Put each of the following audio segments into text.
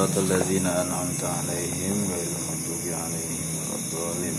siratal ladzina an'amta 'alaihim ghairil maghdubi 'alaihim waladdallin.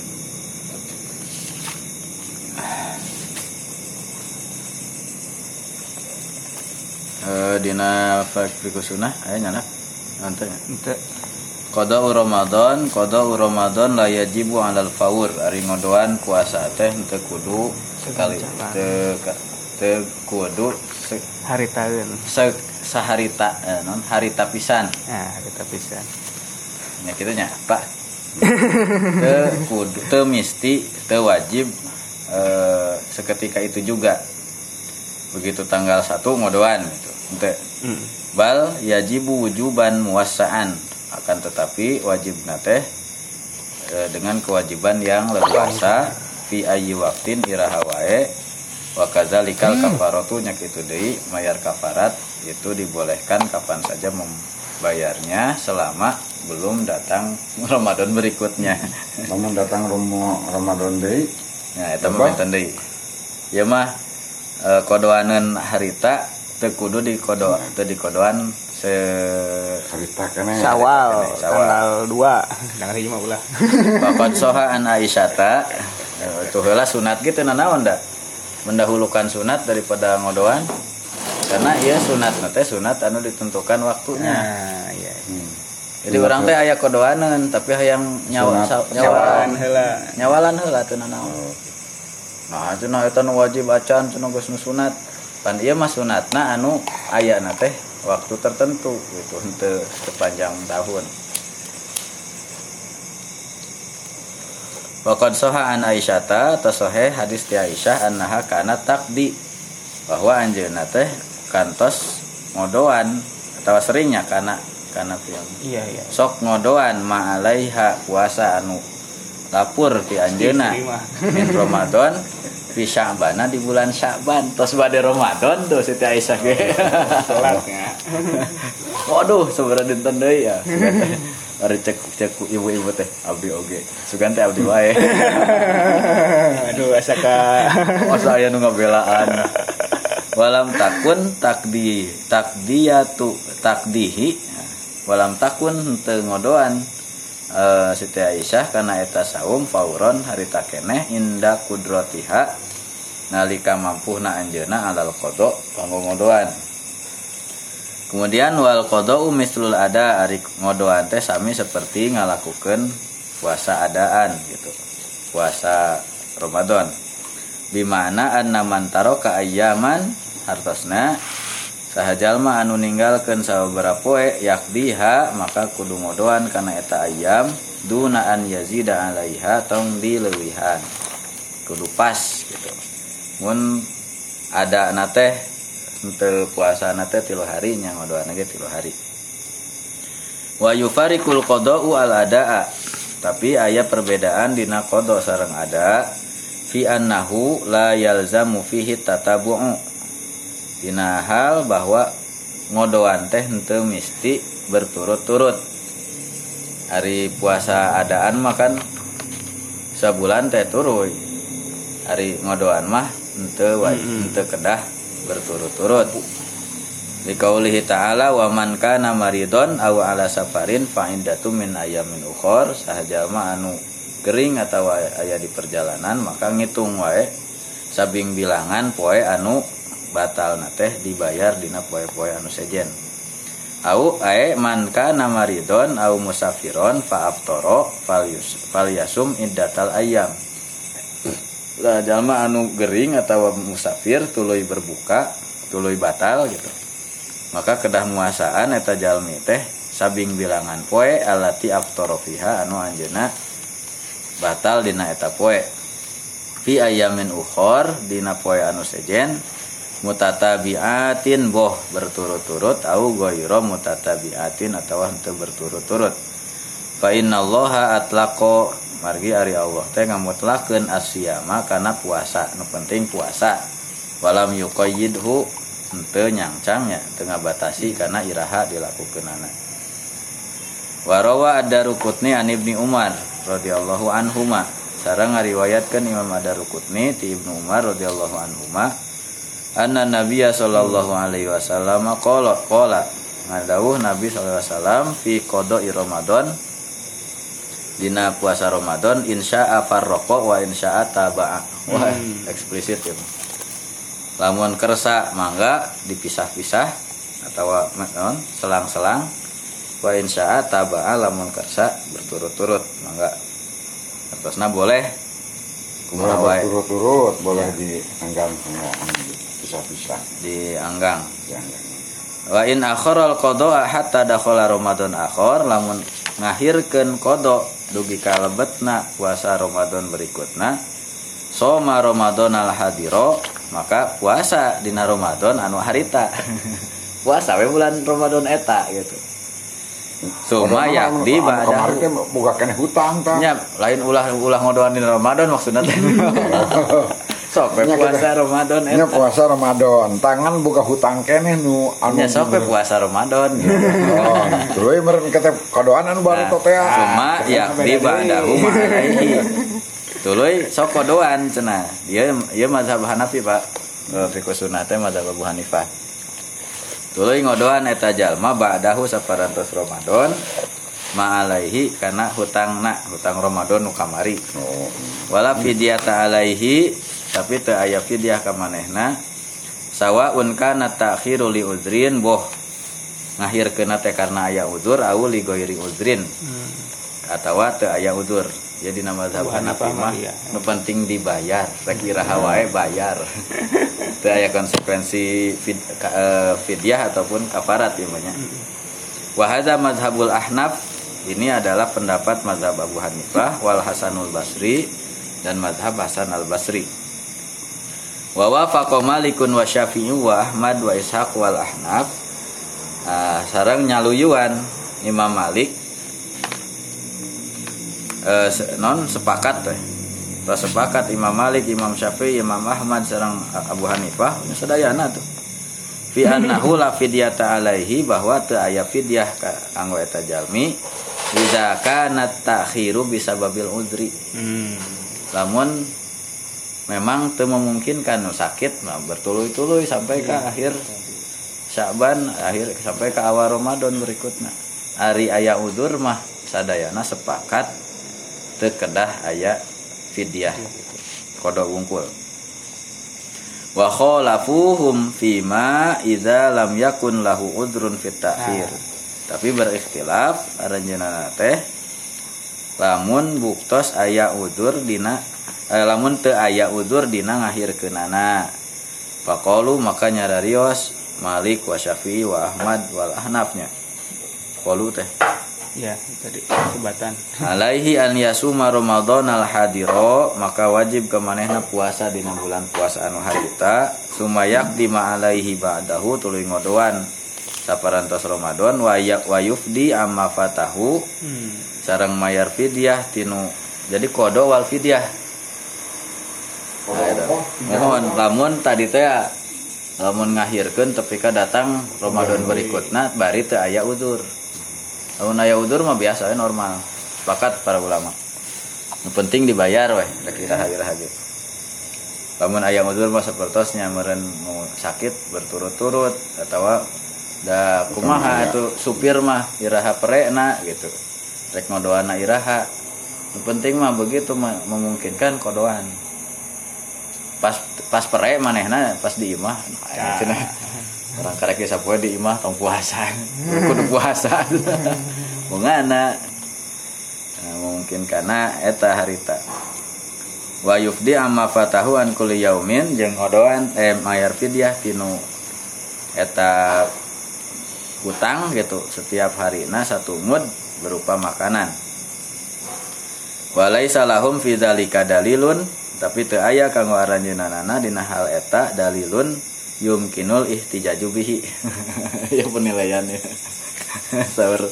Dina fikih sunnah aya nyana ante qada'u Ramadan la yajibu 'alal faur ari ngodoan puasa teh teu kudu sekali teu kudu haritaeun saharita non harita pisan. Harita pisan nya kitu nya Pak. Teu kudu teu misti teu wajib seketika itu juga. Begitu tanggal 1 ngodoan gitu. Henteu. Bal yajibu wujuban muwassa'an, akan tetapi wajibna teh dengan kewajiban yang leluasa fi ayyi waqtin iraha wae wa kadzalikal kafaratu nya kitu deui mayar kafarat itu dibolehkan kapan saja membayarnya selama belum datang Ramadan berikutnya. Namun datang Ramadan deui nah eta mah enten deui. Ieu mah kodoaneun harita teu kudu dikodoan harita kana Syawal tanggal 2 tanggal 5 ulah. Faqad soha an Aisyata tuh heula sunat gitu nanaon da mendahulukan sunat daripada ngodoan karena ieu sunatna teh sunat anu ditentukan waktunya. Iya. Jadi urang teh aya kodoaneun tapi hayang nyawalan heula teu nanaon. Nah cenah eta nu wajib acan cenah geus sunat. Pan ieu mah sunatna anu aya na teh waktu tertentu gitu henteu sepanjang tahun. Waqad soha an Aisyata tasohe hadis ti Aisyah annaha kana taqdi bahwa anjeunna teh kantos ngodoan atawa seringnya kana piang. Iya. Sok ngodoan ma alaiha puasa anu lapur ti anjeunna min Ramadan fi Sya'ban di bulan Sya'ban tos bade Ramadan tuh Siti Aisyah ge. Salatnya. Waduh sabaraha dinten deui ya. Ari cek ibu-ibu teh abdi oge. Sugan teh abdi wae. Aduh asa ka masa aya nu ngabelaan. Walam takun takdihi walam takun teu ngodoan Siti Aisyah kana eta saum fauron harita keneh inda kudratiha nalika mampuhna anjeunna alal qada kanggo ngodoan. Kemudian wal qada'u mislul ada ari ngodoan teh sami seperti ngalakukeun puasa adaan gitu. Puasa Ramadan. Bimana anna man taraka ayyaman hartosna saha jalma anu ninggalkeun sababaraha poe yakdiha maka kudu ngodoan kana eta ayyam duna an yazida alaiha tong dileuwihan. Kudu pas gitu. Mun ada na teh untuk puasa nate 3 hari nya ngodoan ge 3 hari. Wa yufariqul qada'u al adaa. Tapi aya perbedaan dina qada sareng ada fi annahu la yalzamu fihi tatabu'u. Dina hal bahwa ngodoan teh henteu misti berturut-turut. Hari puasa adaan mah kan sabulan teh turuy. Hari ngodoan mah henteu kedah berturut-turut. Liqaulihi ta'ala wa man kana maridon aw ala safarin fa indatu min ayamin ukhor sahajalma anu gering atawa aya di perjalanan maka ngitung wae sabing bilangan poe anu batalna teh dibayar dina poe-poe anu sejen. Au ae man kana maridon aw musafiron fa aftara falyasum iddatal ayyam. Lah jalma anu gering atau musafir tuluy berbuka tuluy batal gitu maka kedah muasaan eta jalmi teh sabing bilangan poe alati aftara fiha anu anjeunna batal dina eta poe fi ayamin ukhor dina poe anu sejen mutatabiatin boh berturut-turut au ghairu mutatabiatin atawa henteu berturut-turut fa innallaha atlaqa margi ari Allah teh ngamutlakeun asyama kana puasa nu penting puasa walam yuqayyidhu henteu nyangcang nya teu ngabatasi kana iraha dilakukeunana. Warawa ad-Daruqutni an Ibnu Umar radhiyallahu anhuma sareng ngariwayatkeun Imam ad-Daruqutni ti Ibnu Umar radhiyallahu anhuma anna Nabiyya sallallahu alaihi wasallam qala ngadawuh Nabi sallallahu alaihi wasallam fi qada'i Ramadan dina puasa Ramadan insya'a farraqa wa insya'a taba'a. Wah, eksplisit ya. Lamun kersa mangga dipisah-pisah atau selang-selang, wa insya'a taba'a lamun kersa berturut-turut mangga. Terusna boleh kumaha bae. Turut-turut boleh dianggang pisah-pisah. Dianggang. Dianggang. Wa in akharal qada hatta dakhala Ramadan akhar lamun ngahirkeun qada dugi kalebetna puasa Ramadan berikutna soma Ramadan al hadiro maka puasa dina Ramadan anu harita puasa we bulan Ramadan eta gitu suma yakdi ba'da kemarin teh boga keneh hutang tah nya lain ulah ngodoan dina Ramadan maksudna teh sok we puasa Ramadan nya eta puasa Ramadan tangan boga hutang keneh nu nya sok we puasa Ramadan gitu. oh tuluy meureun kata kadoan anu baru totea cuma yakdi ba'dahu ma'alaihi tuluy sok kodoan cenah ieu mazhab Hanafi Pak fiqh sunnah teh mazhab Abu Hanifah tuluy ngodoan eta jalma ba'dahu saparantos Ramadan ma'alaihi kana hutang Ramadan nu kamari wala fidyata alaihi tapi teu aya fidyah ka manehna sawaun kana ta'khiru li udrin boh ngahirkeun teh karena aya udzur au li ghairi udrin atawa teu aya udzur jadi nama mazhab Hanafi mah nu penting dibayar rek iraha wae bayar teu aya konsekuensi fidyah ataupun kafarat ieu mah nya wa hadza mazhabul Ahnaf ini adalah pendapat mazhab Abu Hanifah wal Hasanul Basri dan mazhab Hasan al Basri wa wafaqa Malikun wa Syafi'i wa Ahmad wa Ishaq wal Ahnaf sareng nyaluyuan Imam Malik sepakat teh sepakat Imam Malik, Imam Syafi'i, Imam Ahmad sareng Abu Hanifah sadayana tuh fi annahu la fidyata alaihi bahwa teu aya fidyah kanggo eta jalmi idza kana ta'khiru bisababil udri lamun memang teu memungkinkan sakit mah bertuluy-tuluy sampai ke akhir Sya'ban sampai ke awal Ramadan berikutna ari aya udzur mah sadayana sepakat teu kedah aya fidyah qada wungkul wa khalafuhum fima idza lam yakun lahu udzrun fit ta'khir tapi berikhtilaf aranjeunna teh lamun buktos aya udzur dina lamun teu aya udzur dina ngahirkeunana faqalu maka nyararios Malik wa Syafi'i wa Ahmad wal Ahnafnya qalu teh ya tadi sebatan alaihi an yasuma Ramadan al hadiro maka wajib ke manehna puasa dina bulan puasa anu harita sumayak di ma alaihi ba'dahu tuluy ngodoan saparantos Ramadan wa yufdi amma fatahu sareng mayar fidyah tinu jadi qada wal fidyah mohon lamun tadi teh lamun ngahirkeun tepika datang Ramadan berikutna bari teu aya udzur. Lamun aya udzur mah biasa we normal. Sepakat para ulama. Nu penting dibayar we rek iraha-iraha ge. Lamun aya udzur mah sapertosnya meureun nu sakit berturut-turut atawa da kumaha atuh supir mah iraha perena gitu. Rek ngodoana iraha. Nu penting mah begitu memungkinkan kodoan. Pas pere manehna pas di imah cenah orang karek ge sapoe di imah tong puasa kudu puasa mungana mungkin kana eta harita wa yufdi amma fatahu an kulli yaumin jeung odoan mayar fidyah tinu eta hutang gitu setiap harina satu mud berupa makanan walaisa lahum fi dzalika dalilun tapi teu aya kanggo aranjeunana dina hal eta dalilun yumkinul ihtijaju bihi ya penilaiannya saur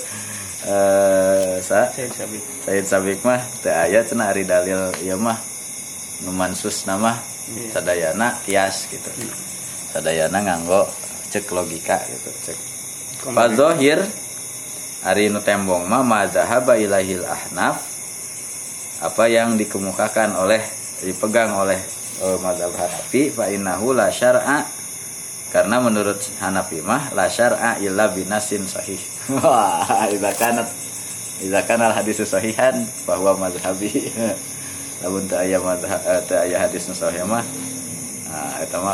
Said Sabik mah teu aya cenah ari dalil ieu mah nu mansus nama sadayana kias gitu sadayana nganggo cek logika gitu cek fadzahir ari nu tembong mah mazhaba ilahil ahnaf apa yang dikemukakan oleh dipegang oleh mazhab Hanafi fa innahu la syar'a Karena menurut Hanafi mah la syar'a illa binasin sahih. Wah, idza kana hadis sahihan fa huwa mazhabi. Lamun teu aya mazhab teu aya hadis sahih mah eta mah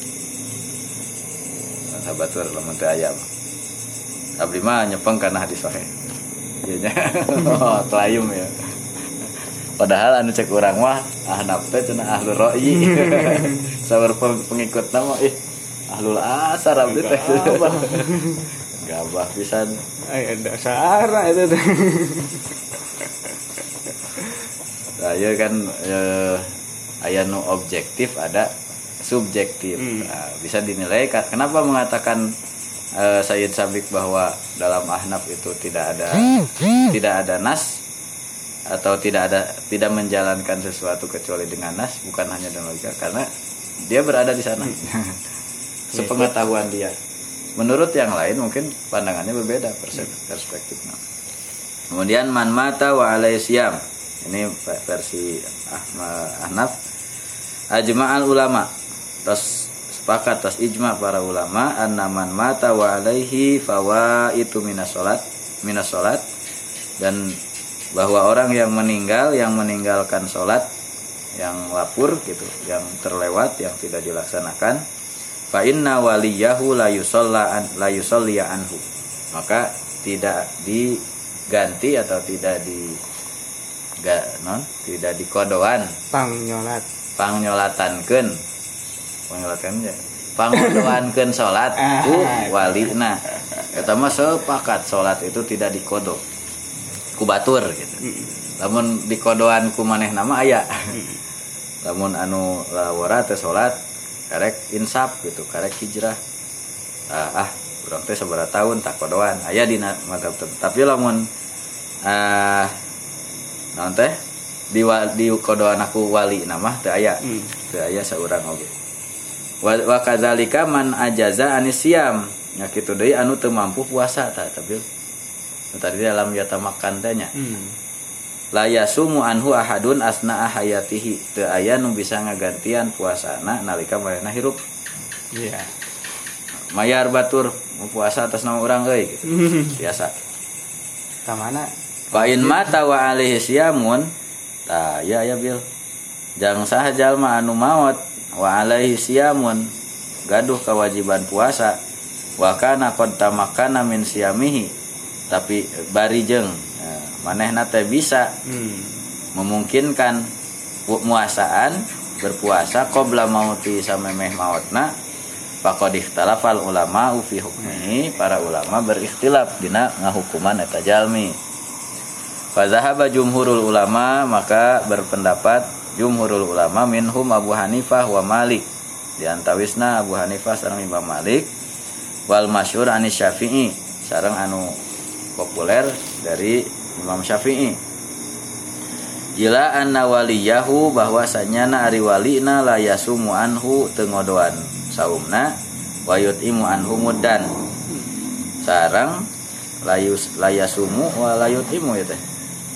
mazhabatur lamun teu aya mah. Abdi mah nyepeng kana hadis sahih. Ieu nya. Oh, tlayum ya. Padahal anu cek urang mah ahnaf teh cenah ahlul ra'yi. Sawer pengikut nama ahlul asar abdi teh. Gabah pisan. Ai dasar eta teh. Saya kan aya nu objektif ada subjektif. Nah, bisa dinilai kenapa mengatakan Sayyid Sabiq bahwa dalam ahnaf itu tidak ada nas atau tidak menjalankan sesuatu kecuali dengan nas, bukan hanya dengan logika, karena dia berada di sana. Sepengetahuan dia. Menurut yang lain mungkin pandangannya berbeda perspektifnya. Kemudian man mata wa alaihi siyam. Ini versi Ahnaf. Ajma'al ulama. Terus sepakat atas ijma para ulama anna man mata wa alaihi fawaitu minas salat, dan bahwa orang yang meninggalkan sholat yang lapur gitu, yang terlewat, yang tidak dilaksanakan, fa inna waliyahu la yusalli anhu, maka tidak diganti atau tidak dikodoan pangnyolatankeun sholat ku walina. Eta mah sepakat sholat itu tidak dikodo ku batur gitu. Lamun dikodoan ku manehna mah aya. Lamun anu lawara teh salat karek insaf gitu, karek hijrah. Urang teh sabaraha tahun tak kodoan. Aya dina madzhab tertentu. Tapi lamun naon teh di kodoan aku wali namah teu aya. Teu aya saurang oge. Wa kadzalika man ajaza anisyam. Nya kitu deui anu teu mampu puasa tapi tadi dalam yata makan tanya la yasumu anhu ahadun asna'a hayatihi, teu aya nu bisa ngagantian puasana nalika manehna hirup. Iya. Mayar batur puasa atas nama urang euy gitu. Biasa. Ka mana? Fa in mata wa alaihi siyamun, ya bil. Jang saha jalma anu maot wa alaihi siyamun, gaduh kewajiban puasa, wa kana qad tamakkana min siyamihi, tapi bari jeung manehna teh bisa memungkinkan muasaan berpuasa qabla mauti samemeh mautna, faqad ikhtalafal ulama fi hukmihi, para ulama berikhtilaf dina ngahukuman eta jalmi. Fa zahaba jumhurul ulama, maka berpendapat jumhurul ulama minhum Abu Hanifah wa Malik, di antawisna Abu Hanifah sareng Imam Malik, wal masyhur anis Syafi'i, sareng anu populer dari Imam Syafi'i, ila anna waliyahu, bahwasanya na ari walina la yasumu anhu teu ngodoan saumna, wa yutimu anhu muddan, sareng la yasumu wa la yutimu ya teh.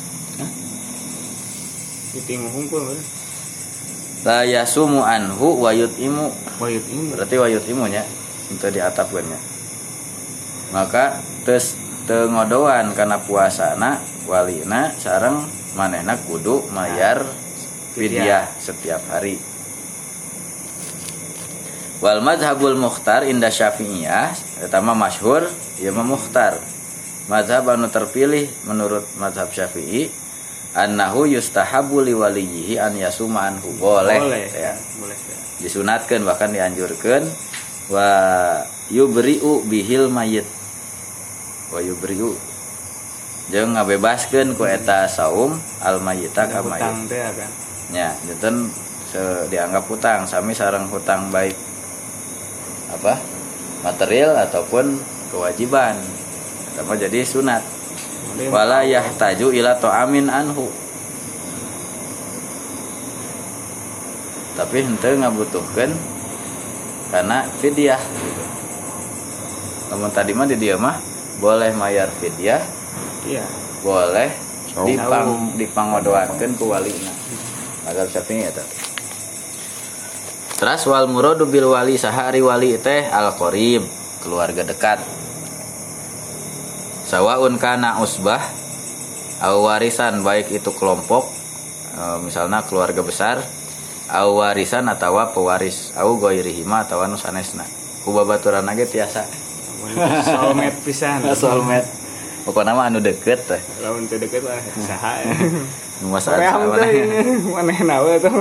Yutimu hungkul La yasumu anhu wa yutimu. Berarti wa yutimu nya untuk diatapkeunnya. Maka terus teu ngodoan kana puasana walina sareng manehna kudu mayar fidyah setiap hari. Wal madhabul mukhtar inda Syafi'iyah, eta mah masyhur, ieu mah mukhtar. Mazhab anu terpilih menurut mazhab Syafi'i, annahu yustahabu li waliyhi an yasuma anhu, boleh ya. Boleh ya. Disunatkeun, bahkan dianjurkeun, wa yubri'u bihil mayyit. Wa yubri'u jeung ngabebaskeun ku eta saum al mayyita ka mayyit. Nya, janten dianggap hutang, sami sareng hutang baik apa? Material ataupun kewajiban. Eta jadi sunat. Wala yahtaju ila ta'amin anhu. Tapi henteu ngabutuhkeun kana fidyah gitu. Namun tadi mah di dieu mah boleh mayar fidyah. Iya. Boleh dipangodoakeun ku walina. Mazhab Syafi'i eta. Terus wal muradu bil wali sahari wali teh al qarib, keluarga dekat. Sawaun kana usbah au warisan, baik itu kelompok misalnya keluarga besar, au warisan atawa pewaris, au ghairihima atawa nu sanesna. Ku babaturan ge tiasa. Soulmate pisan. Soulmate. Pokona mah anu deket teh. Lamun teu deket lah saha. Nu masalah manehna we tuh.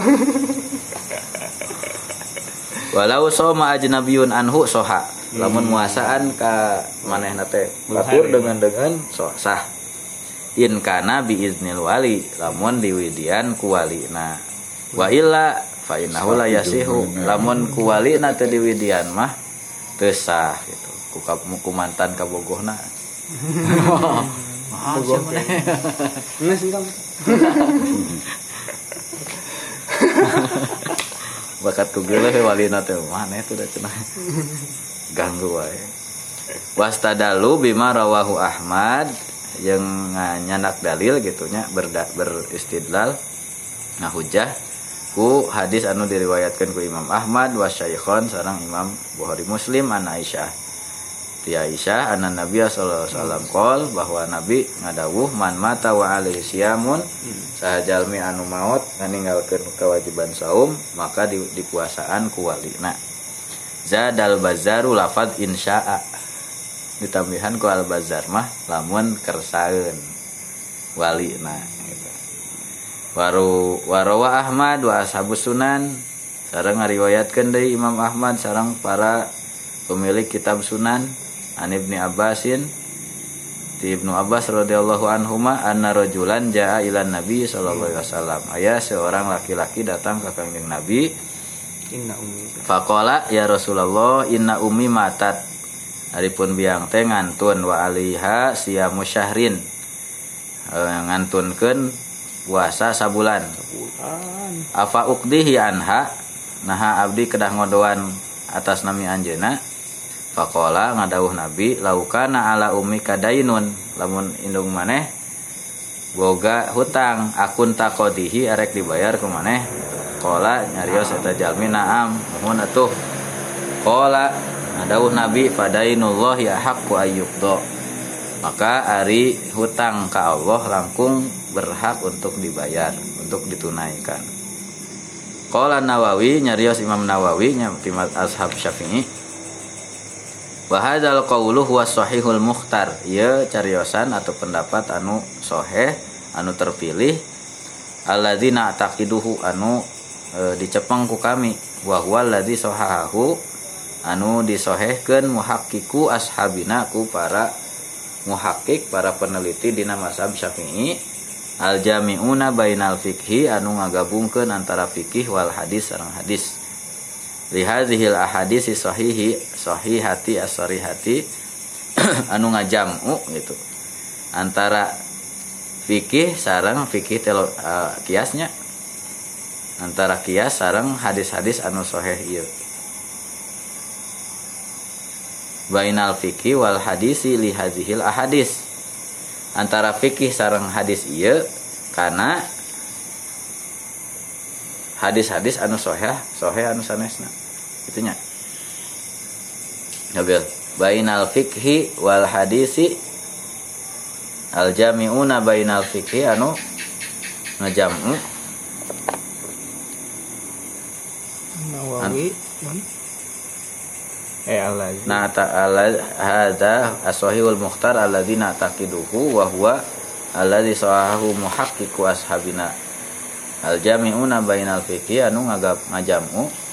Walau soma ajnabiyun anhu soha, lamun muasaan ka manehna teh batur dengan sah. In kana bi iznil wali, lamun diwidian ku walina. Wa illa fa innahu la yasihu, lamun ku walina teu diwidian mah teu sah gitu. Ku mantan kabogohna. Maaf siapa nih? Nah sih kamu. Bakat tugel we walina teh mana itu da cenah. Ganggu wae. Wastadalu bima rawahu Ahmad, yang nyandak dalil gitunya beristidlal ngahujah ku hadis anu diriwayatkeun ku Imam Ahmad wa Syaikhon sareng Imam Bukhari Muslim an Aisyah. Ti Aisyah anna Nabi sallallahu alaihi wasallam qol, bahwa Nabi ngadawuh man mata wa alaihi siyamun, sahajalmi anu maot nganinggalkeun kewajiban saum maka dipuasaan ku walina. Zadal bazaru lafaz insya'a, ditambihan ku al bazar mah lamun kersaeun walina gitu. Warawa Ahmad wa ashabus sunan, sareng ngariwayatkeun deui Imam Ahmad sareng para pemilik kitab sunan an Ibnu Abbasin, di Ibnu Abbas radhiyallahu anhuma anna rajulan jaa ilan Nabi sallallahu alaihi wasallam, aya seorang laki-laki datang ke kanjeng Nabi. Inna ummi. Faqala ya Rasulullah inna ummi matat, adipun biang teh ngantun wa alaiha siyamu syahrin, ngantunkeun puasa sabulan. Afa uqdihi anha, naha abdi kedah ngodoan atas nami anjeuna. Faqala ngadawuh Nabi laukana ala ummi kadainun, lamun indung maneh boga hutang akun taqodihi arek dibayar ku maneh. Qala nyarios eta jalmi naam muhun atuh. Qala ngadawuh Nabi fadainullahi haqqu ayyuqda, maka ari hutang ka Allah langkung berhak untuk dibayar, untuk ditunaikan. Qala Nawawi nyarios Imam Nawawi nya timat ashab Syafi'i, wa hadzal qaulu huwa sahihul mukhtar, ieu cariosan atau pendapat anu sahih anu terpilih, alladzina taqiduhu anu dicepeng ku kami, wa huwa alladzi sahahahu anu disahihkeun muhaqqiqu ashabina ku para muhaqqiq, para peneliti dina mazhab Syafi'i, al jami'una bainal fiqhi anu ngagabungkeun antara fikih wal hadis sareng hadis. Li hadzihil ahadits sahihati as-sarihati anu ngajam'u gitu antara fikih sareng fikih kiasnya, antara kias sareng hadis-hadis anu sahih ieu. Bainal fikih wal hadisi li hadzihil ahadits, antara fikih sareng hadis ieu kana hadis-hadis anu sahih anu sanesna itunya. Nabil bainal fikhi wal hadisi al jami'una bainal fikhi anu ngajam'u. Nawawi alladzi na ta'ala hadza as-sahihul mukhtar alladzina taqiduhu wa huwa alladzi sahahu muhaqqiqu ashabina al jami'una bainal fikhi anu ngajam'u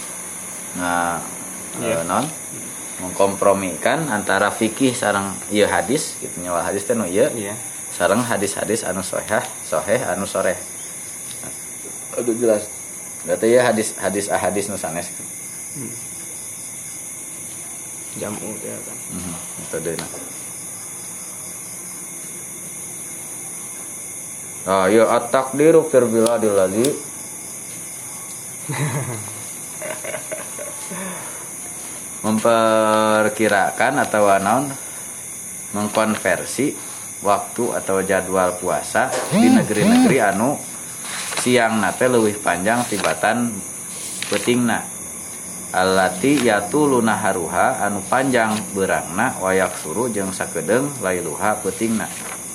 non mengkompromikan antara fikih sareng ieu hadis gitu nya, wal hadis teh nu ieu sareng hadis-hadis anu sahih anu soreh. Aduh jelas berarti ya hadis ahadis nu sanes jamu teh kan. Itu deuna. Ya at-taqdiru fil biladil ladzi memperkirakan atau naon mengkonversi waktu atau jadwal puasa di negeri-negeri anu siang nate leuwih panjang tibatan peutingna. allati yatuluna haruha anu panjang beurangna wayak suru jeung sakedeung lailuha peutingna.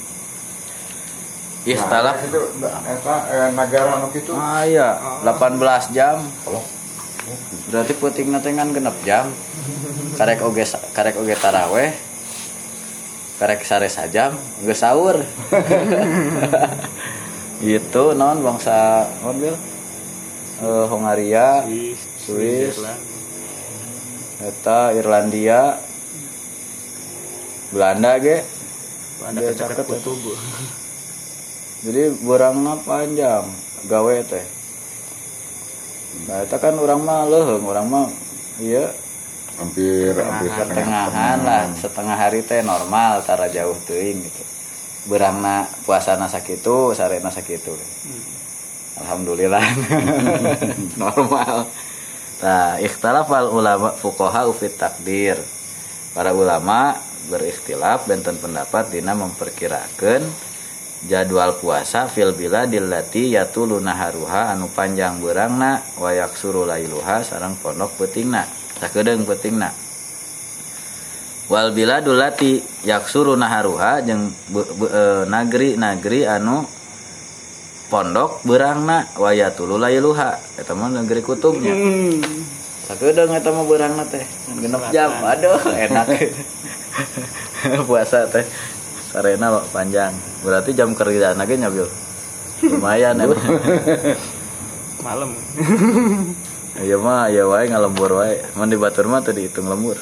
Ikhtalaf itu eta negara anu kitu. Iya 18 jam. Berarti peutingna teh kan 6 jam. Karek oge taraweh. Karek sare sajam geus saur. Gitu naon bangsa mobil Hongaria, Swiss, eta Irlandia, Belanda ge. Ada caket kutub. Jadi beurangna panjang gawe teh. Nah, eta kan urang mah leuheung, urang mah ieu hampir setengahan lah, setengah hari teh normal tara jauh teuing gitu. Beurangna puasana sakitu, sarena sakitu. Alhamdulillah. Normal. Nah, ikhtilafal ulama fuqaha fit takdir. Para ulama berikhtilaf benten pendapat dina memperkirakeun jadwal puasa fil biladil lati yatuluna haruha anu panjang beurangna wa yaksuru lailuha sareng pondok peutingna sakedeung peutingna. Wal biladul lati yaksuru naharuha jeung nagri-nagri anu pondok beurangna wayatulu lailuha eta mah negeri kutubnya. Sakedeung eta mah beurangna teh 6 jam. Aduh enak. Puasa teh sarena panjang. Berarti jam kerja ge nya Bil. Lumayan emang. Malam. Ieu mah aya wae ngalembur wae. Mun di batur mah teu dihitung lembur.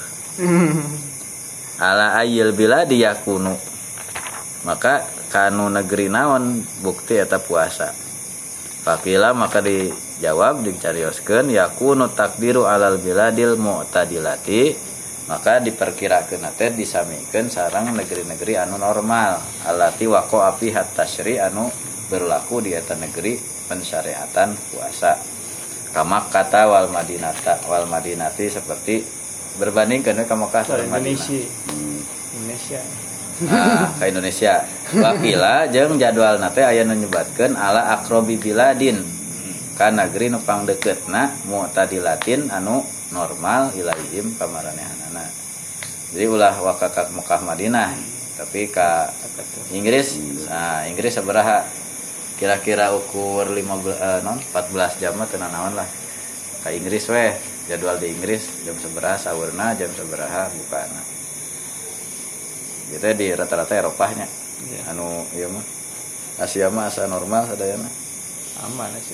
Ala ayyil biladi yakunu. Maka kanu negeri naon bukti eta puasa. Fakila maka dijawab dicarioskeun yakunu takdiru alal biladil mu'tadilati. Maka diperkirakeun teh disamikeun sareng negeri-negeri anu normal alati waqa'a fi at-tasyri anu berlaku di eta negeri pensyariatan puasa. Kama kata wal madinati seperti berbandingkeun ka Makkah sareng Madinah. Indonesia. Nah, ke Indonesia. Wakila jeung jadwalna teh aya nu nyebatkeun ala aqrabi biladin. Ka negeri nu pangdeukeutna mu'tadilatin anu normal ilaihim pamaranehanana. Jadi ulah wakak Mekah Madinah, tapi ka Inggris. Nah, Inggris sabaraha? Kira-kira ukur 14 jam mah teu naon lah. Ka Inggris weh, jadwal di Inggris jam sabaraha saurna, jam sabaraha bukana. Gitu di rata-rata Eropahnya. Yeah. Anu ieu mah Asia mah asa normal sadayana. Aman Asia.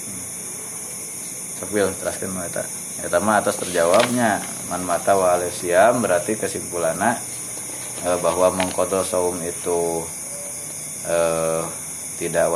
Sepil teraskeun mah eta. Eta mah atas terjawabnya man mata wa alasiam berarti kesimpulanna bahwa mengqadha saum itu tidak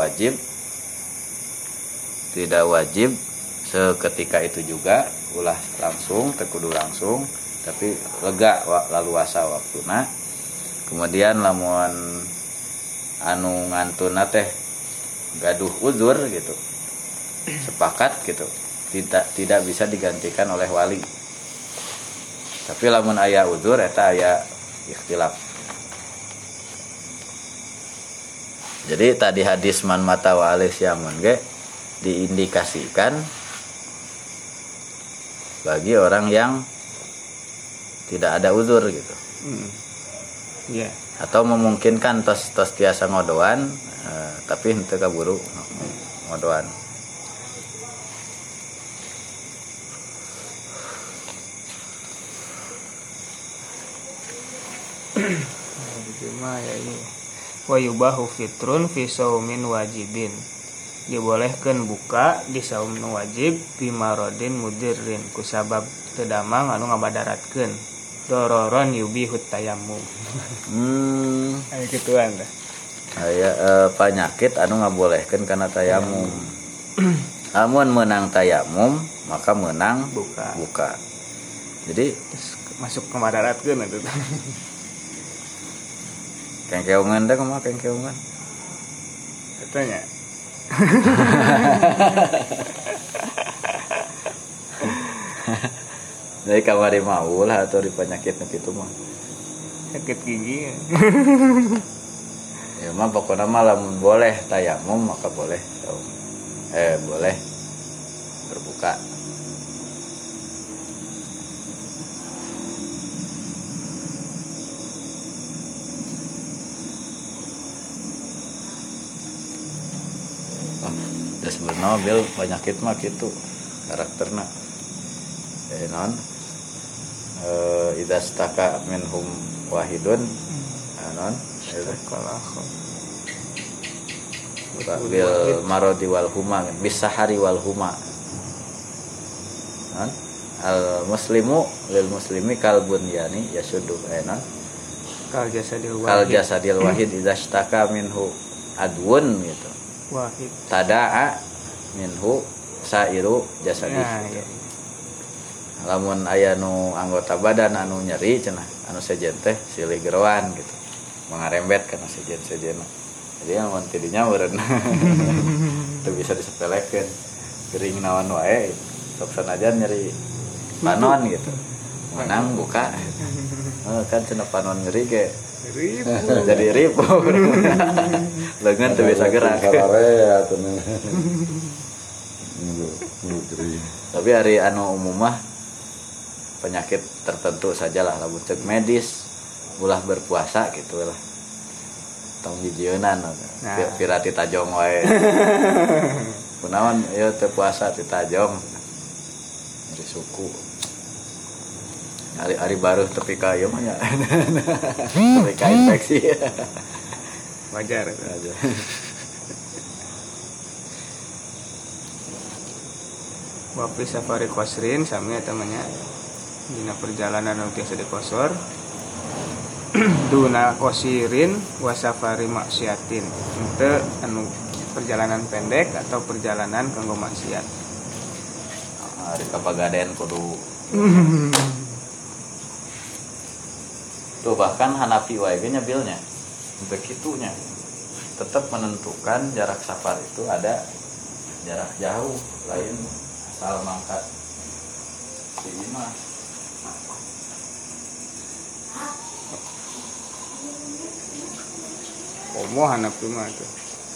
wajib seketika itu juga ulah langsung tekudu langsung tapi lega lalu asa waktuna. Kemudian lamun anu ngantuna teh gaduh uzur gitu sepakat gitu tidak bisa digantikan oleh wali. Tapi lamun aya uzur eta aya ikhtilaf. Jadi tadi hadis man mata wa alisyamun ge diindikasikan bagi orang yang tidak ada uzur gitu. Yeah. Atau memungkinkan tos tiasa ngodoan tapi henteu kaburu ngodoan. Ya ini wa yubahu fitrun fi saumin wajibin. Dibolehkeun buka di saum nu wajib bimarodin mudirrin kusabab teu damang anu ngabadaratkeun dororon yubihut tayammum. Aya kituan tah. Aya penyakit anu ngabolehkeun kana tayamum. Amun menang tayamum maka menang buka. Jadi masuk ngabadaratkeun atuh. Kengkeungan teh kumaha kengkeungan? Katanya. Dari kamari maul atau di penyakit kitu mah. Sakit gigi. Ya mah pokokna mah lamun boleh tayamum maka boleh boleh berbuka. Da sebenarnya bil penyakit mah kitu karakterna. Non idza staka minhum wahidun non bil marodi wal huma bisahari wal huma non al muslimu lil muslimi kal bunyani yasuddu non kal jasadil wahid idza staka minhu adwun gitu wahid tadaa minhu sairu jasadi iya. Lamun aya nu anggota badan anu nyeri cenah anu sejen teh silih geroan gitu mengarembet kana sejen-sejenna jadi lamun tidinya meureun teu bisa disepelekeun gering naon wae sok sanajan nyeri panon gitu menang buka kan cenah panon nyeri ge jadi ribu leungeun teu bisa gerak tapi hari anu umum mah penyakit tertentu sajalah lamun cek medis ulah berpuasa gitu lah tong hijienan pirati tajong wae kunaon ieu teu puasa ti tajong dari suku hari baru tepi ka ieu mah nya tepi ka infeksi wajar. Wapi safari qasrin sami eta namanya dina perjalanan anu tiasa dikosor duna qasirin wa safari maksiatin teu anu perjalanan pendek atau perjalanan kanggo maksiat hari kapagaden kudu tuh bahkan Hanafi wae ge nyabilnya begitunya tetap menentukan jarak safar itu ada jarak jauh lain asal mangkat si imah komo Hanafi mah tuh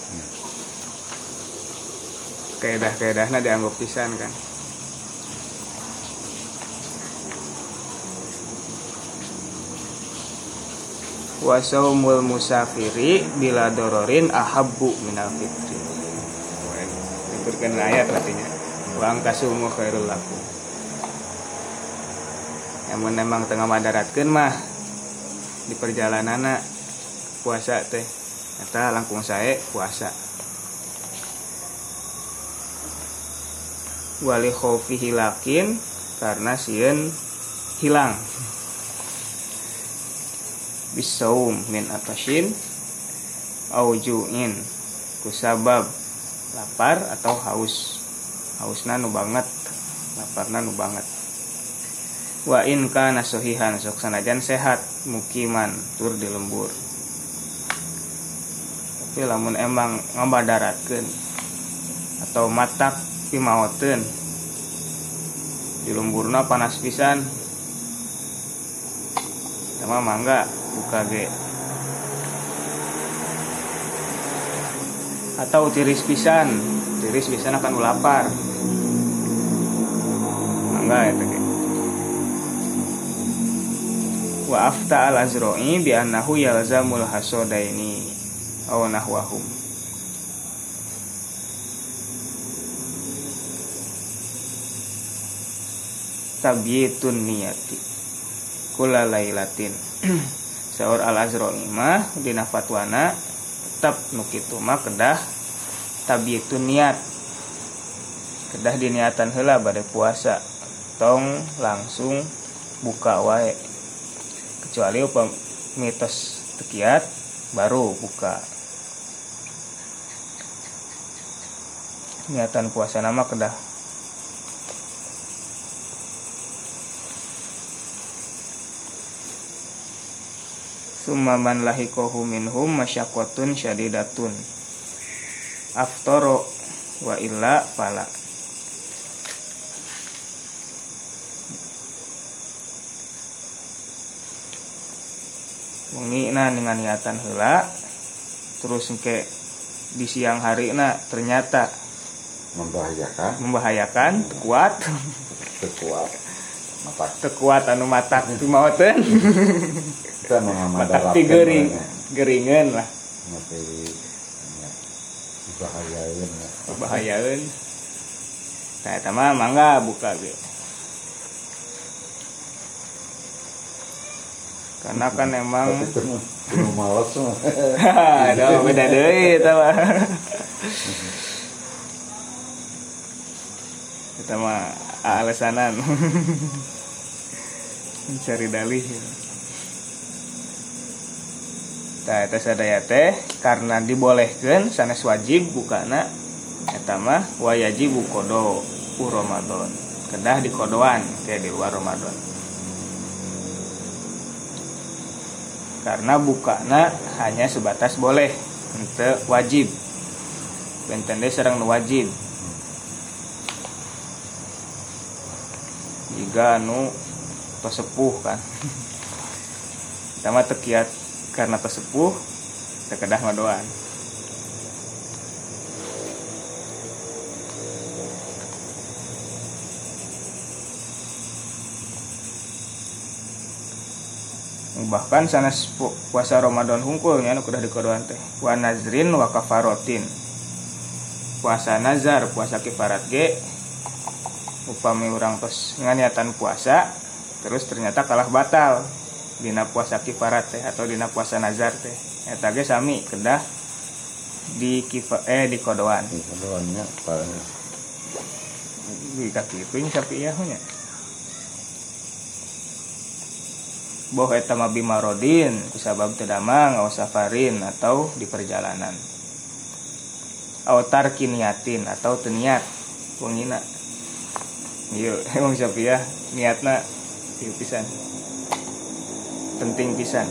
kaedah-kaedahna dianggap pisan kan. Wa saumul musafiri bila dororin ahabbu minal fitri. Diturkeun ayat artinya. Wa angkasumu khairul lakum. Yang memang tengah madaratkeun mah di perjalananna puasa teh eta langkung sae puasa. Wali khaufi hilakin karena sieun hilang. Bisaum min atashin au ju'in kusabab lapar atau hausna nu banget laparna nu banget. Wa in kana sahihan sok sanajan sehat mukiman tur di lembur tapi lamun emang ngabadaratkeun atau matak pimaoteun di lemburna panas pisan sama mangga buka ge atau tiris pisan akan lapar mangga eta ge wa afta al azra'i bi annahu yalzamul hasadaini aw nahwahum tabyitun niyati kula lailatin saur al azra'i mah dina fatwana tetap nu kitu mah kedah tabyitun niat kedah diniatan heula bade puasa tong langsung buka wae kecuali upam mitos tekiat baru buka niatan puasa nama kedah summa man lahikohu minhum masyaqqatun syadidatun aftoro wa illa fala mengina dengan niatan heula terus engke di siang hari na ternyata membahayakan tekuat anu matak pimaoteun matak ti geringeun lah bahayain ya. bahayaeun. Tah eta mah mangga buka ge. Karena kan emang Tapi itu malas mah. ada beda deui eta mah. Eta mah alasanan. Mencari dalih. Tah eta sadaya teh karena dibolehkeun sanes wajib bukana eta mah wayajibu qada Ramadan. Kedah di kodoan teh di luar Ramadan. Karena bukana hanya sebatas boleh, henteu wajib. Benten deui sareng nu wajib. Jika anu tos sepuh kan. Sama tekiat karena tos sepuh tekedah ngadoan. Bahkan sanes puasa Ramadan hungkul nya anu kudah dikodoan teh wa nazrin wa kafarotin. Puasa nazar, puasa kifarat ge upami urang tos nganiatan puasa terus ternyata kalah batal dina puasa kifarat teh atau dina puasa nazar teh eta ge sami kedah di kodoan. Di kodoannya paling Di kaki itu sapi ya nya. Boh eta mah bimarodin kusabab teu damang aw safarin atau di perjalanan. Aw tarki niatin atau teu niat wongina. Ieu emang sapi ya niatna ieu pisan. Penting pisan.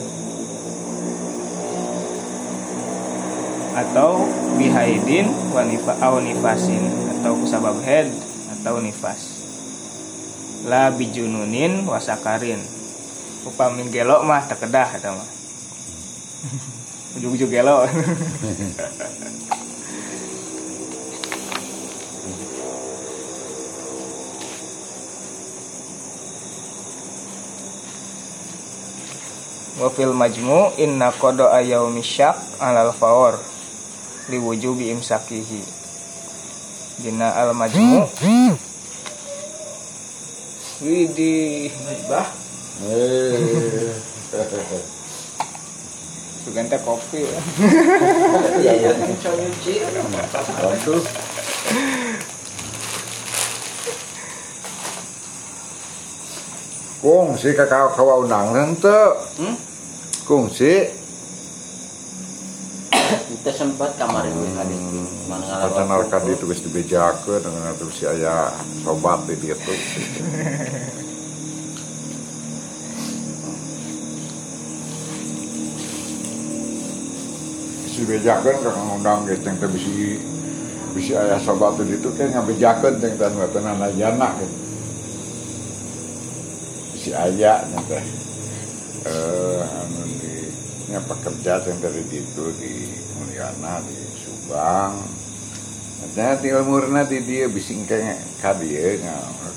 Atau bihaidin wa nifasin atau kusabab haid atau nifas. La bijununin wasakarin. Upami gelo mah tak kedah eta mah. Ujug-ujug gelo. Wa fil majmu' inna qada ayaumi syak 'alal fawr li wujubi imsakihi. Dina al majmu' widih bah sugante kopi ya ya nyuci bantu. Kungsi kakak kawa undang henteu. Kungsi kita sempat kamar itu tadi Pacan Arkadi itu geus dibejakeun dengan atuh si aya sobat di dieu tuh. Dibejakeun ka ngundang ge teh bisi aya sobat di ditu teh ngabejakeun teh teh watana jana gitu. Bisi aya teh anu di nya pekerja teh dari ditu di Mulyana di Subang. Nah, di umurna di dieu bisi engke ka dieu nya.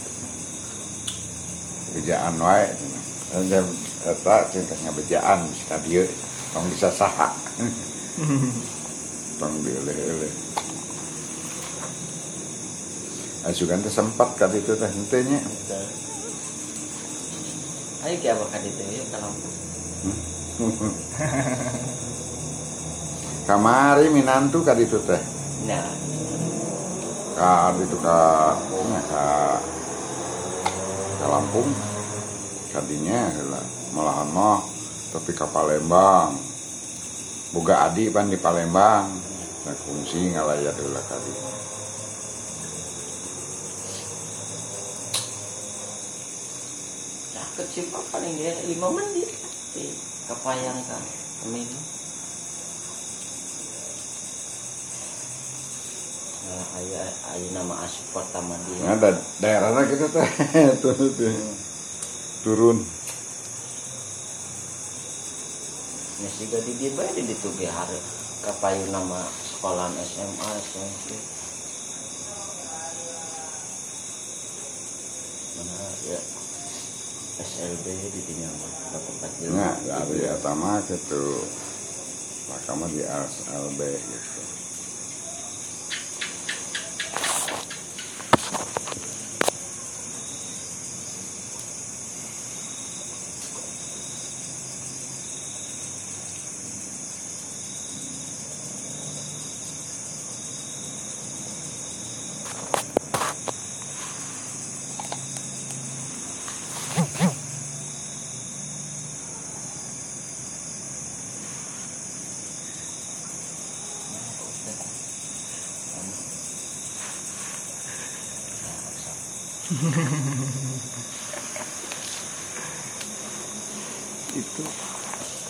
Bejaan wae. Dan eta teh ngabejaan bisi ka dieu tong bisa saha. Tong dieleh-eleh. Asukan teh sempat ka ditu teh henteu nya. Ayo ki abah ka ditu ya kalau Kamari minantu ka ditu teh. nah Ka ditu ka Lampung. Kadinya heula malahan mah tapi ka Palembang. Boga adi pan di Palembang. Nah kungsi ngalayat heula ka ditu. kecil paling dia 5 menit di Kapayang kan kami ayah nama asuport sama dia Ada daerahnya kita teh turun. nasi gadi dia bae di tu bihar Kapayang nama sekolahan SMA SMP mana ya SLB di Tinyama tempat dia. Nah, dari atama gitu. Makanya di SLB gitu.